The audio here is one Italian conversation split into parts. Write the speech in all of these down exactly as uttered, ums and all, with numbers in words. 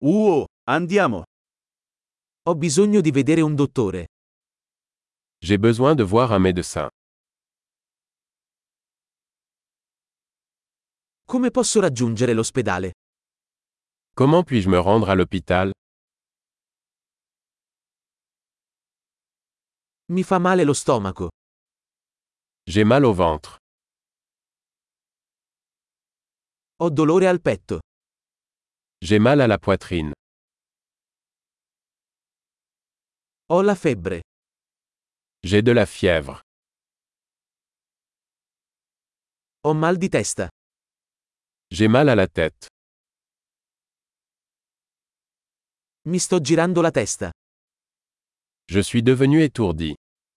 Uh, andiamo. Ho bisogno di vedere un dottore. J'ai besoin de voir un médecin. Come posso raggiungere l'ospedale? Comment puis-je me rendre à l'hôpital? Mi fa male lo stomaco. J'ai mal au ventre. Ho dolore al petto. J'ai mal à la poitrine. Ho la febbre. J'ai de la fièvre. Ho mal di testa. J'ai mal à la tête. Mi sto girando la testa. Je suis devenu étourdi.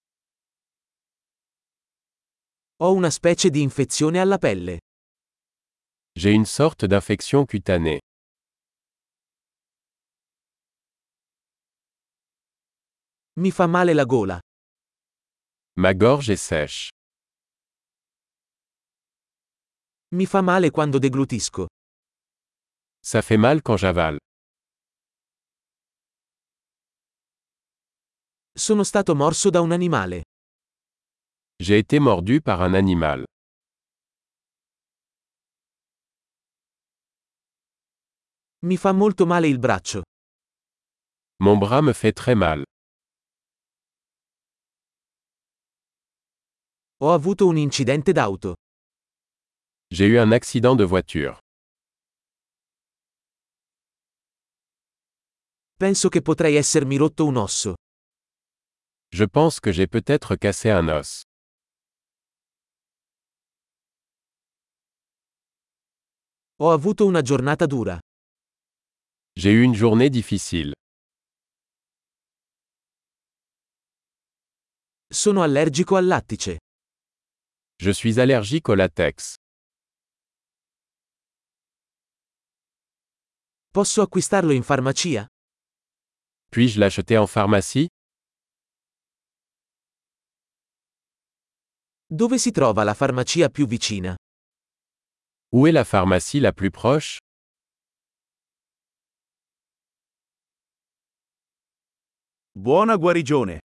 Ho una specie di infezione alla pelle. J'ai une sorte d'infection cutanée. Mi fa male la gola. Ma gorge est sèche. Mi fa male quando deglutisco. Ça fait mal quand j'avale. Sono stato morso da un animale. J'ai été mordu par un animal. Mi fa molto male il braccio. Mon bras me fait très mal. Ho avuto un incidente d'auto. J'ai eu un accident de voiture. Penso che potrei essermi rotto un osso. Je pense que j'ai peut-être cassé un os. Ho avuto una giornata dura. J'ai eu une journée difficile. Sono allergico al lattice. Je suis allergique au latex. Posso acquistarlo in farmacia? Puis-je l'acheter en pharmacie? Dove si trova la farmacia più vicina? Où est la pharmacie la plus proche? Buona guarigione.